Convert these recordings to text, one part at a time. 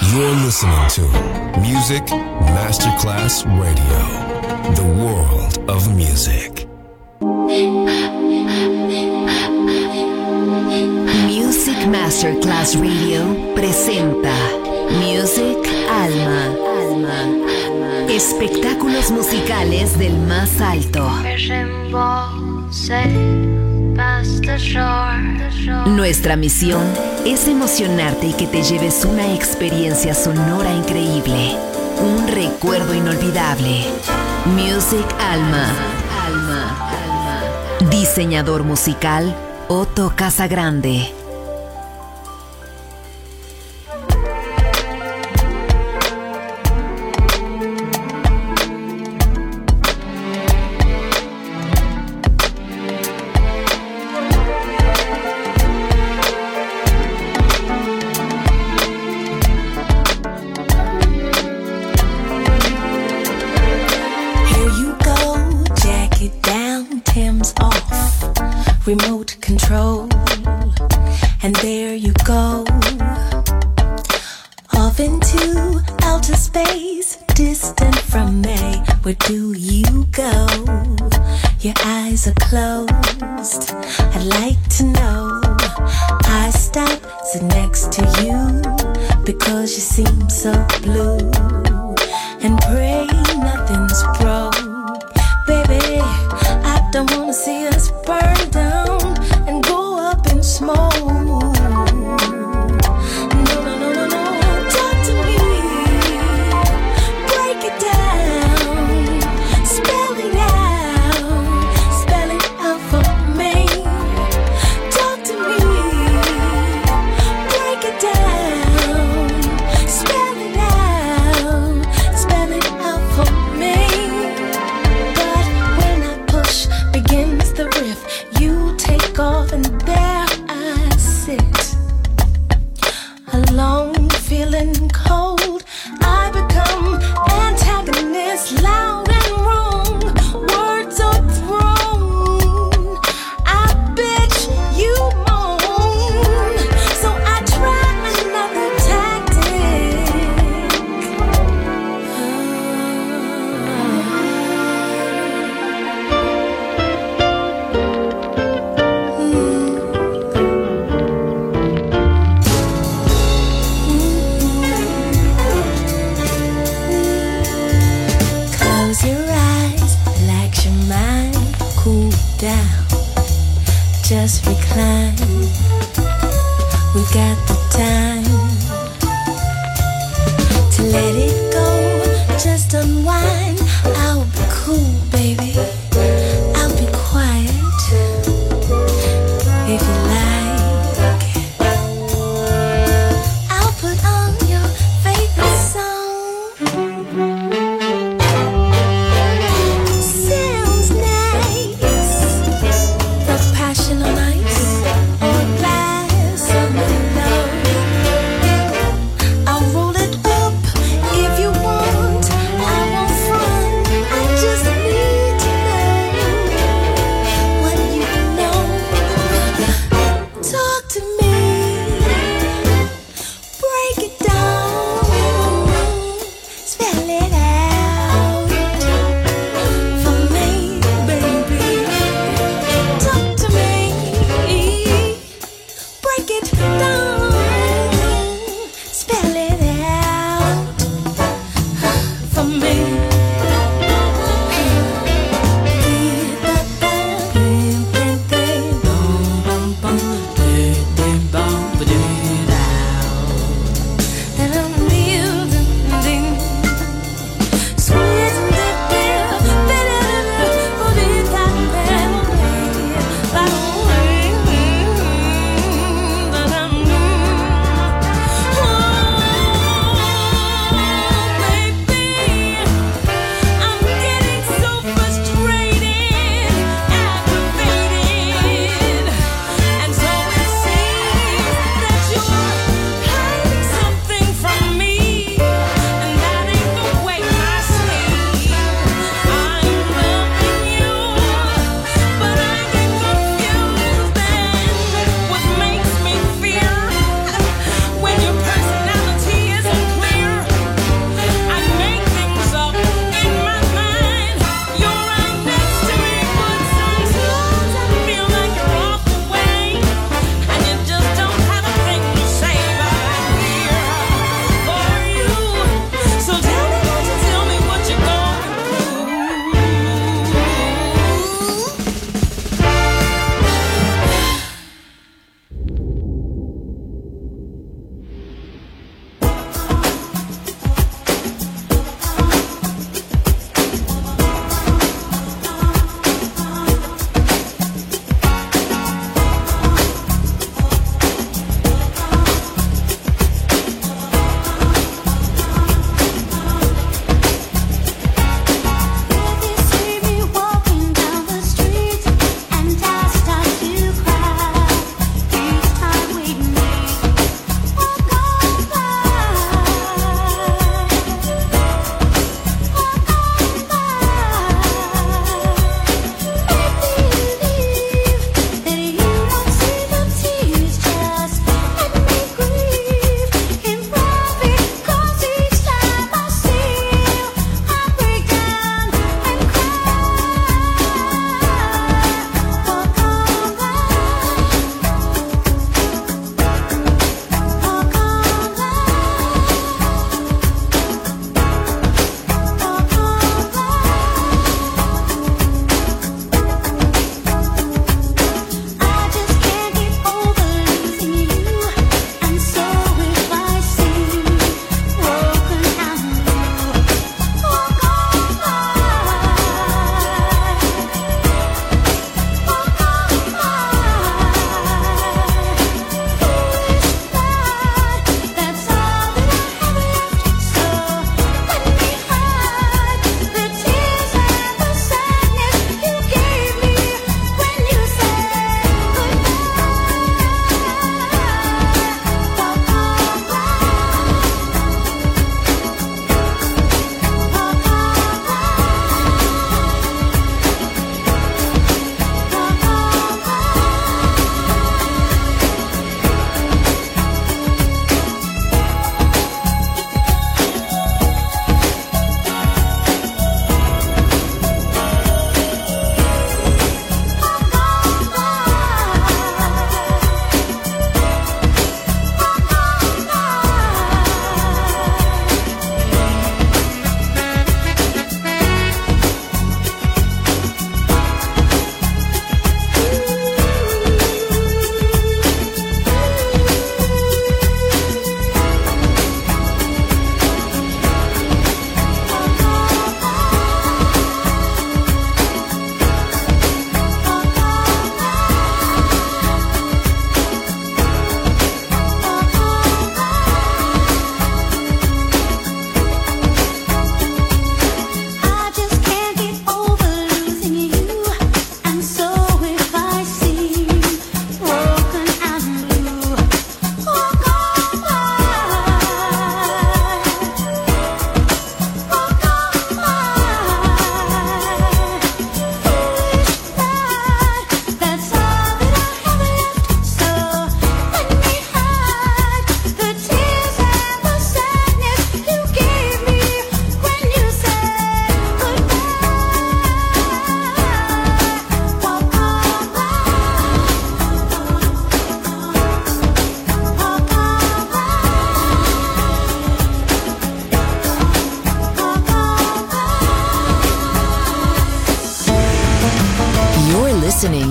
You're listening to Music Masterclass Radio, the world of music. Music Masterclass Radio presenta Music Alma. Espectáculos musicales del más alto. Nuestra misión es emocionarte y que te lleves una experiencia sonora increíble, un recuerdo inolvidable. Music Alma. Diseñador musical Otto Casagrande. Remote control, and there you go, off into outer space, distant from me. Where do you go? Your eyes are closed. I'd like to know. I stop, sit next to you, because you seem so blue, and pray nothing's broke. Baby, I don't wanna see us burn down and go up in smoke. No, talk to me, break it down, spell it out for me. Talk to me, break it down, spell it out for me. But when I push begins the riff, you take off and there I sit, alone, feeling cold. I become antagonist, loud and wrong. Words are thrown, I bitch, you moan. So I try another tactic. Close your eyes, relax your mind, cool down, just recline. We've got the time to let it go, just unwind. I'll be cool, baby, I'll be quiet, if you like. I'll put on your favorite song. Sounds nice. The passion on ice, or a glass of love.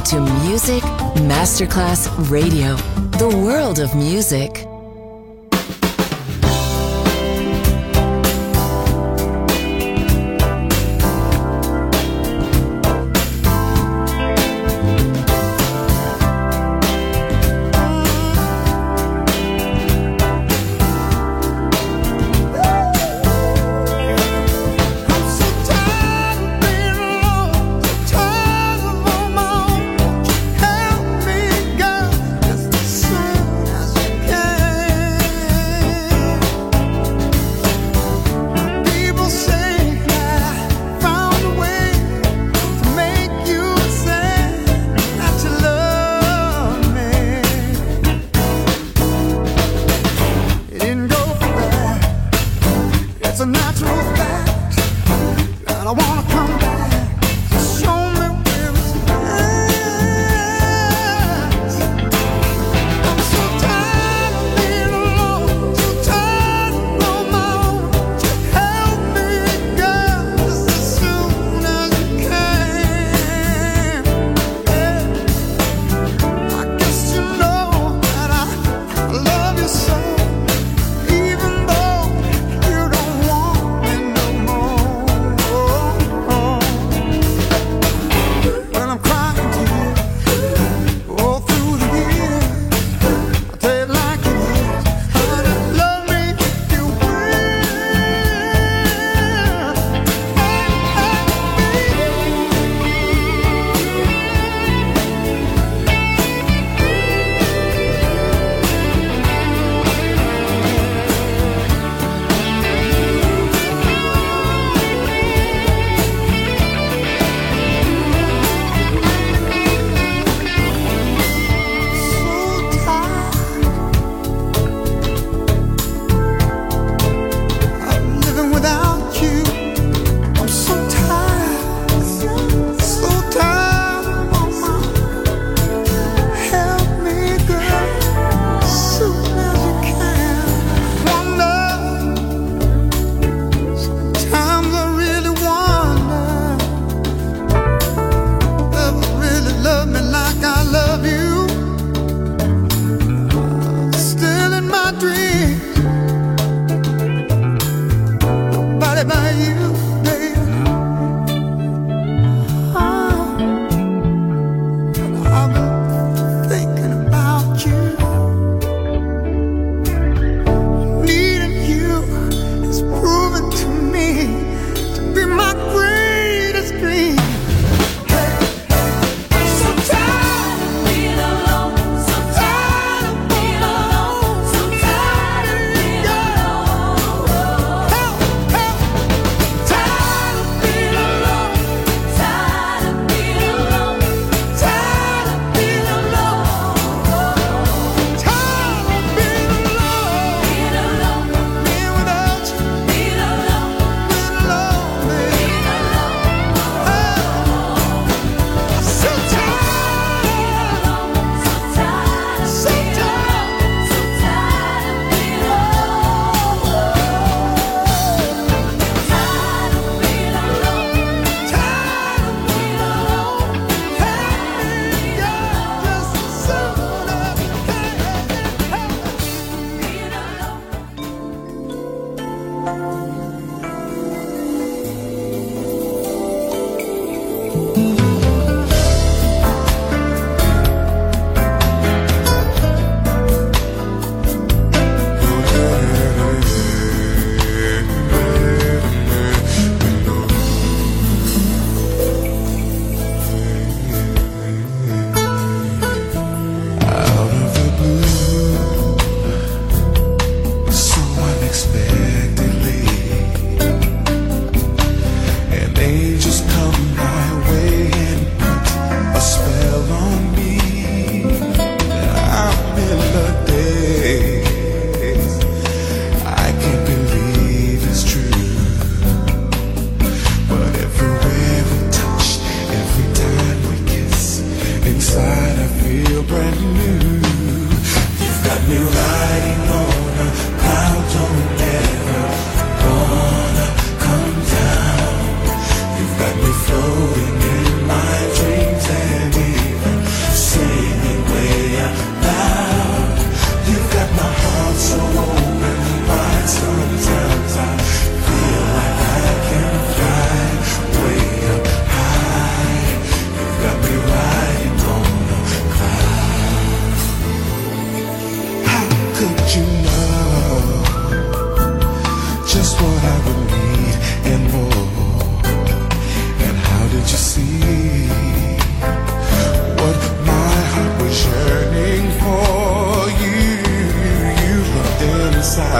to Music Masterclass Radio, the world of music. Time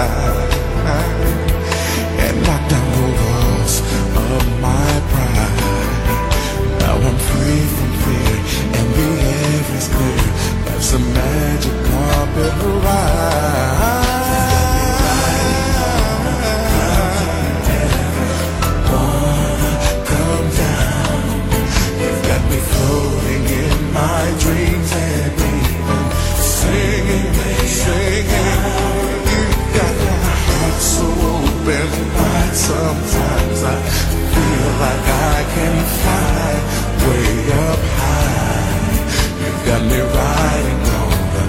inside and knock down the walls of my pride. Now I'm free from fear and the air is clear. Life's a magic carpet ride. Floating in my dreams and even singing, singing. You got my heart so open wide. Sometimes I feel like I can fly way up high. You've got me riding on the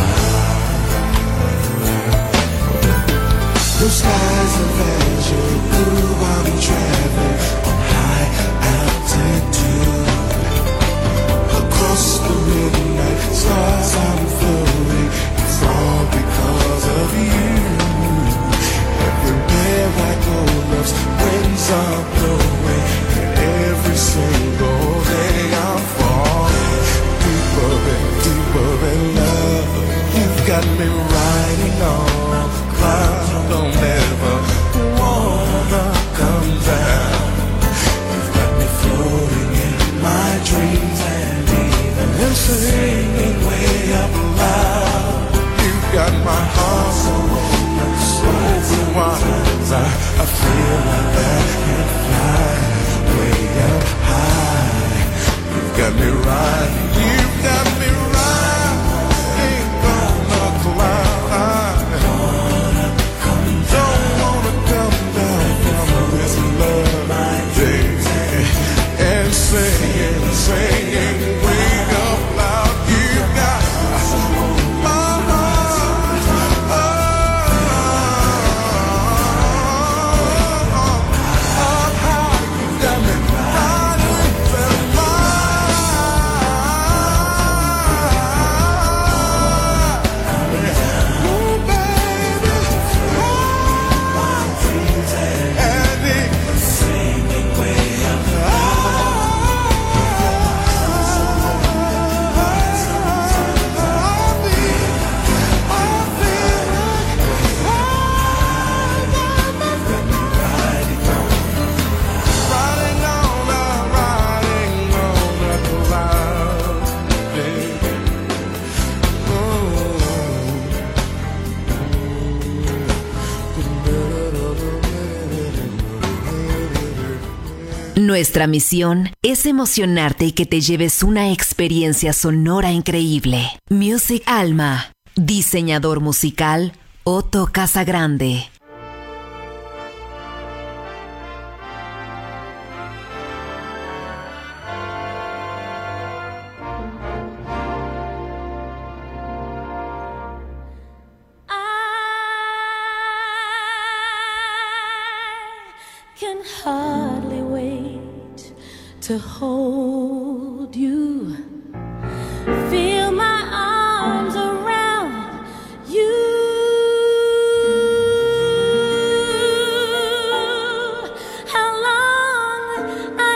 cloud. Blue skies of azure, blue I'm traveling on high altitude. Across the midnight stars I'm floating. It's all because of you. Everywhere I go, love's winds are blowing. And every single day I'm falling deeper and deeper in love. You've got me riding on clouds. Don't ever wanna come down. You've got me floating in my dreams and singing way up loud. You've got my heart so open, so wide. I feel like I can fly way up high. You've got me riding, you've got me riding on the cloud. Don't wanna come down from this love day and singing, singing way up. Nuestra misión es emocionarte y que te lleves una experiencia sonora increíble. Music Alma. Diseñador musical, Otto Casagrande. Hardly wait to hold you, feel my arms around you. How long I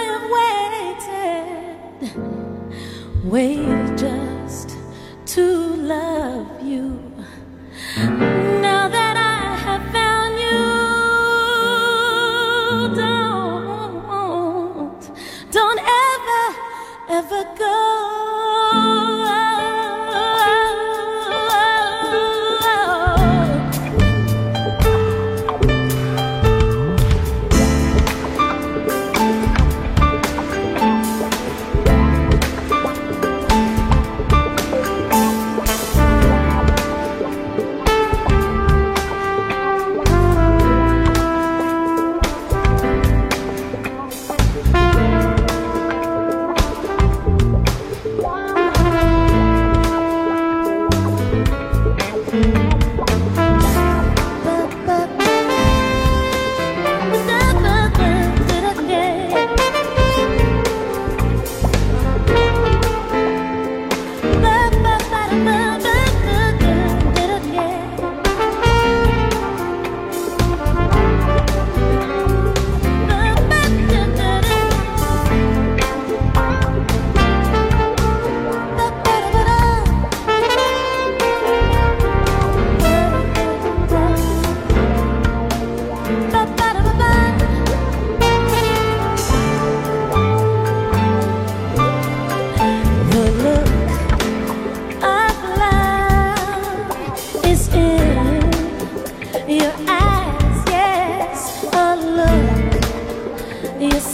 have waited just to love you. Now that I have found you, don't ever go.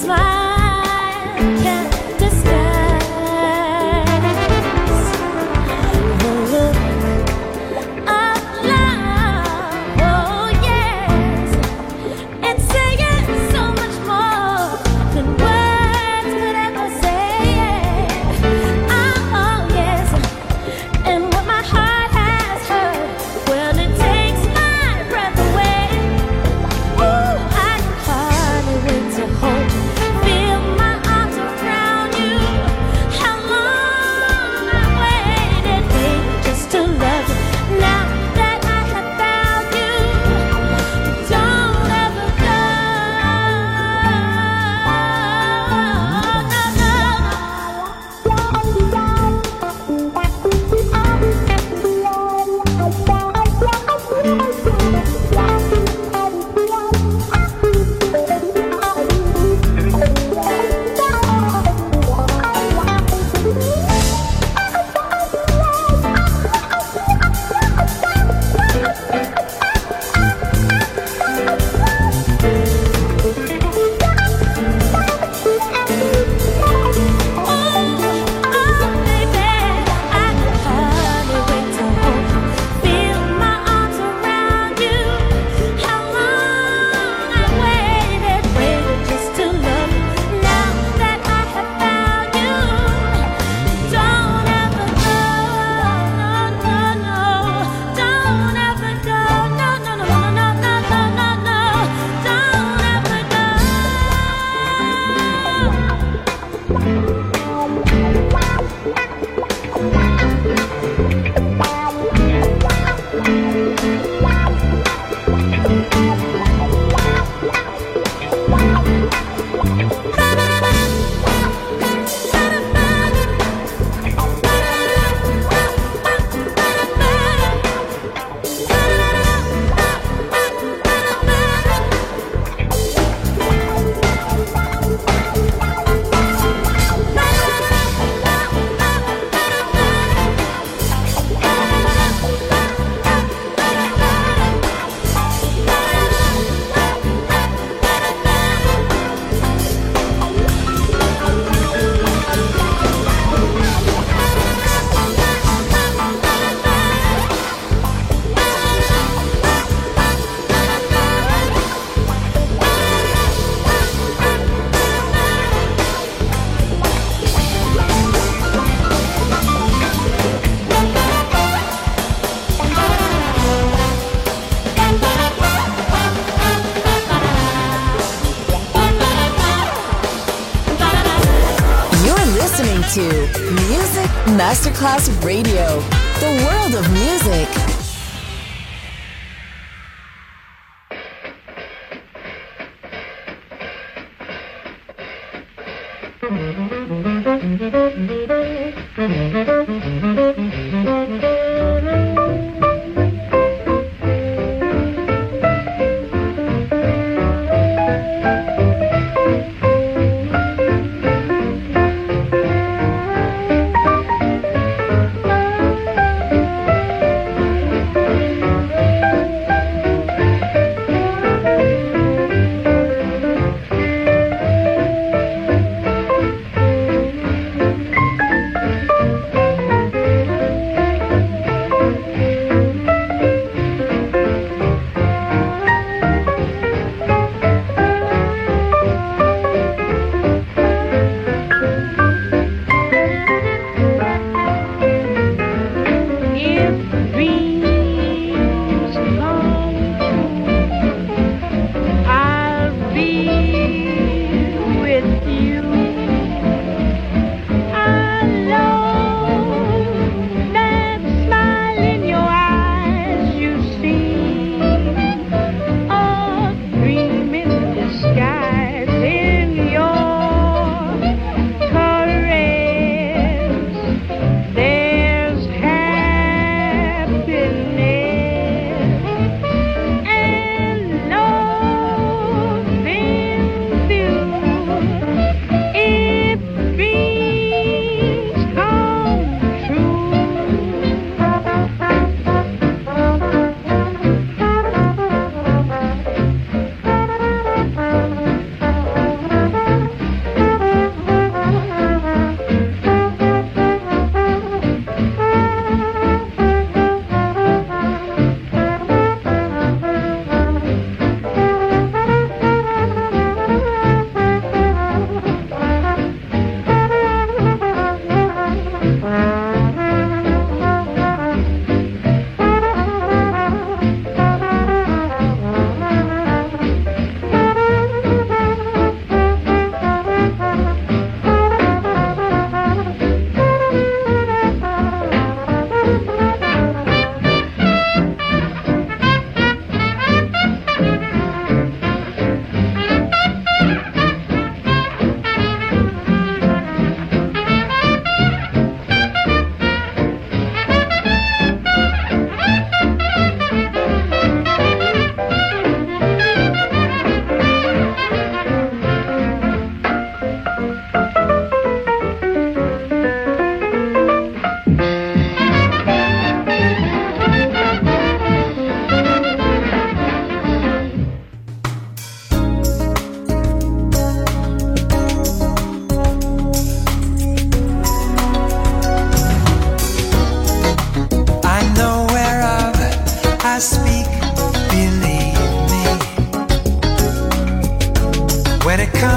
to Music Masterclass Radio, the world of music.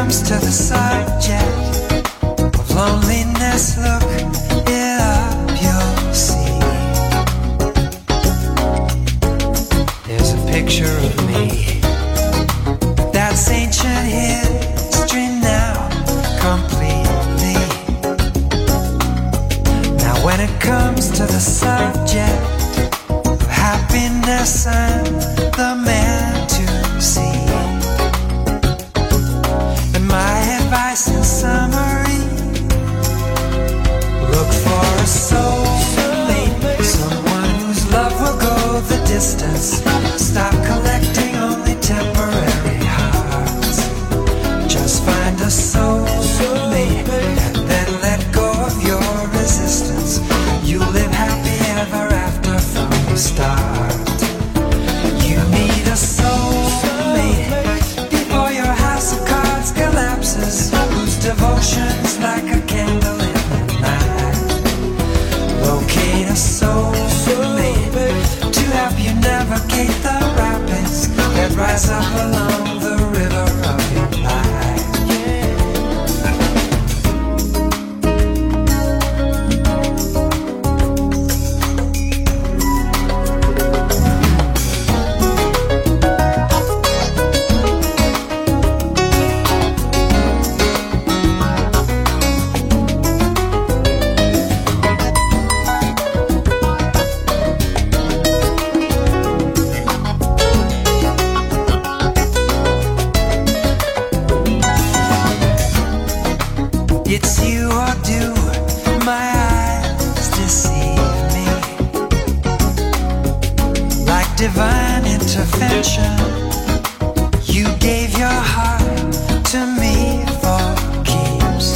comes to the subject of loneliness, look it up, you'll see. There's a picture of me that's ancient history now, completely. Now when it comes to the subject of happiness, I'm the man to see. And my advice in summary, look for a soulmate, someone whose love will go the distance. Stop collecting only temporary hearts. Just find a soulmate and then let go of your resistance. You live happy ever after from the start. You need a soulmate before your house of cards collapses, whose devotion's like a candle in the night. Locate a soulmate to help you navigate the rapids that rise up along the river of your life. It's you or do my eyes deceive me? Like divine intervention, you gave your heart to me for keeps.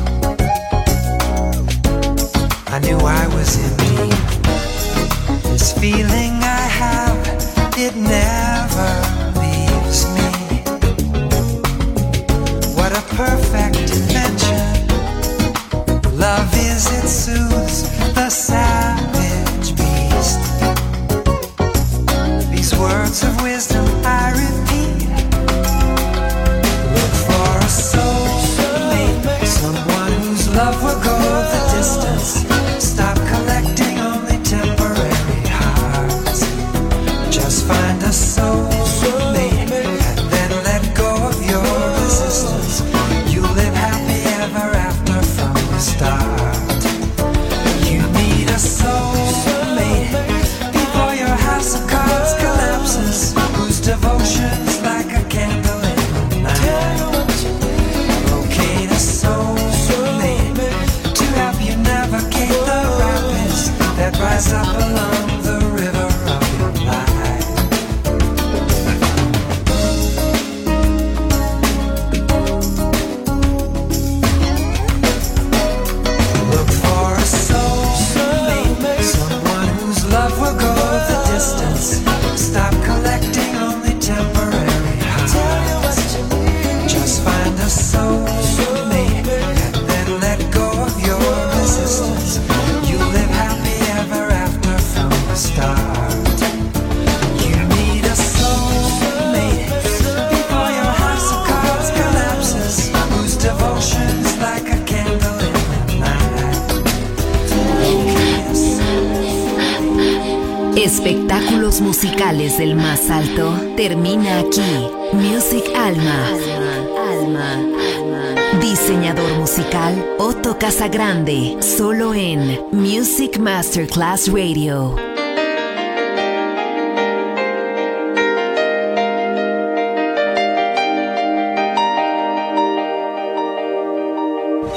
I knew I was in deep. This feeling I have, it never leaves me. What a perfect invention. Love is, it soothes the savage beast. These words of wisdom I repeat. Look for a soulmate, someone whose love will go the distance. Stop collecting only temporary hearts. Just find a soulmate and then let go of your resistance. You live happy ever after from the start. You need a soulmate before your house of cards collapses, whose devotion's like a candle in the night. Locate a soulmate to help you navigate the rapids that rise up along the river of your life. Look for a soulmate, someone whose love will go the distance. Stop collecting only temporary hearts. Just find a soulmate and then let go of your resistance. You live happy ever after from the start. You need a soulmate before your house of cards collapses, whose devotion's like a candle in the night. Espectáculos musicales del más alto termina aquí. Music Alma. Diseñador musical Otto Casagrande, solo en Music Masterclass Radio.